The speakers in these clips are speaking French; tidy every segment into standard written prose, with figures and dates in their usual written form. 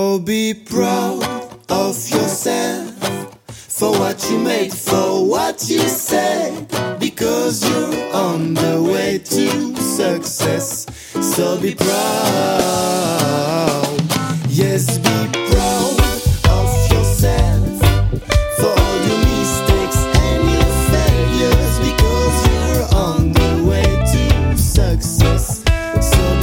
Oh, be proud of yourself for what you made, for what you said, because you're on the way to success. So be proud, yes, be proud of yourself for all your mistakes and your failures, because you're on the way to success. So be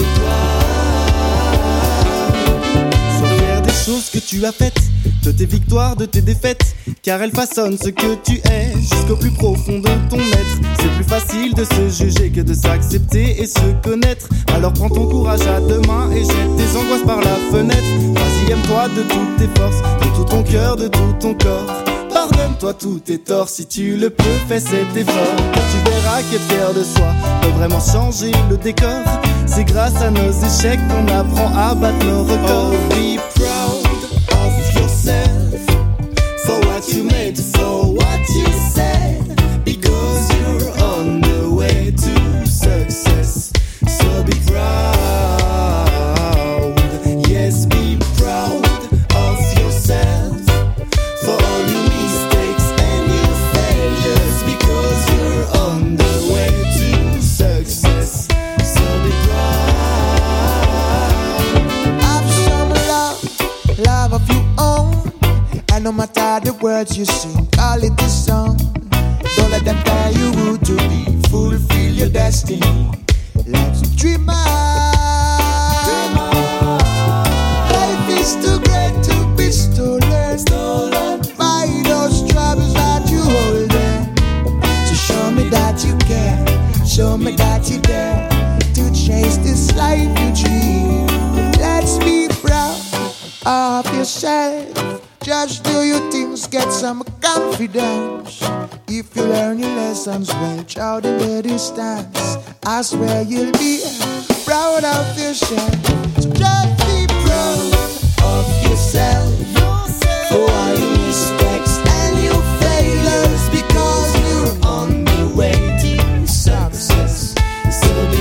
proud. Sois fier des choses que tu as faites, de tes victoires, de tes défaites, car elles façonnent ce que tu es jusqu'au plus profond de ton être. C'est plus facile de se juger que de s'accepter et se connaître. Alors prends ton courage à deux mains et jette tes angoisses par la fenêtre. Vas-y, aime-toi de toutes tes forces, de tout ton cœur, de tout ton corps. Pardonne-toi tous tes torts, si tu le peux, fais cet effort. Car tu verras qu'être fier de soi peut vraiment changer le décor. C'est grâce à nos échecs qu'on apprend à battre nos records. Oh, be proud of yourself for what you made, for what you said, because you're on the way to success. So be proud, yes, be proud of yourself for all your mistakes and your failures, because you're on the way to success. So be proud. Have some love of your own. And no matter the words you sing, call it a song. Don't let them tell you who to be. Fulfill your destiny. Let's dream on. Life is too great to be stolen by those troubles that you hold in. So show me that you care. Show me that you dare to chase this life you dream. Let's be proud of yourself. Just do your things, get some confidence. If you learn your lessons well, child in the distance, I swear you'll be proud of yourself. So just be proud of yourself for all your mistakes and your failures, because you're on the way to success. So be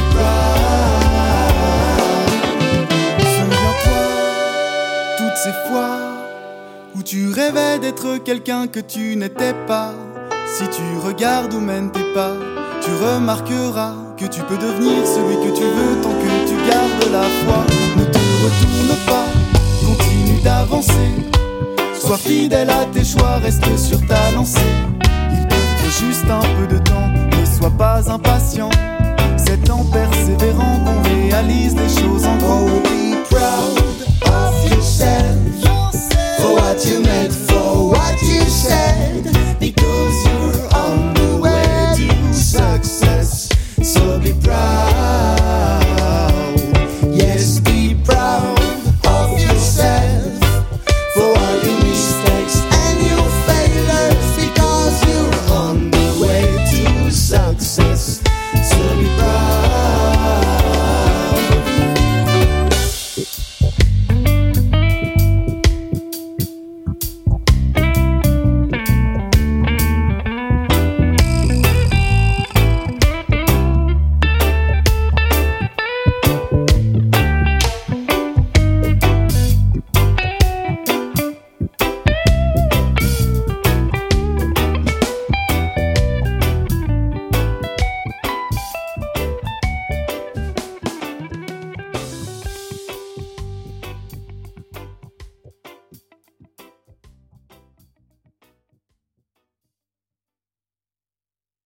proud. Souviens-toi toutes ces fois où tu rêvais d'être quelqu'un que tu n'étais pas. Si tu regardes où mènent tes pas, tu remarqueras que tu peux devenir celui que tu veux tant que tu gardes la foi. Ne te retourne pas, continue d'avancer. Sois fidèle à tes choix, reste sur ta lancée. Il te faut juste un peu de temps, ne sois pas impatient. C'est en persévérant qu'on réalise des choses en grand.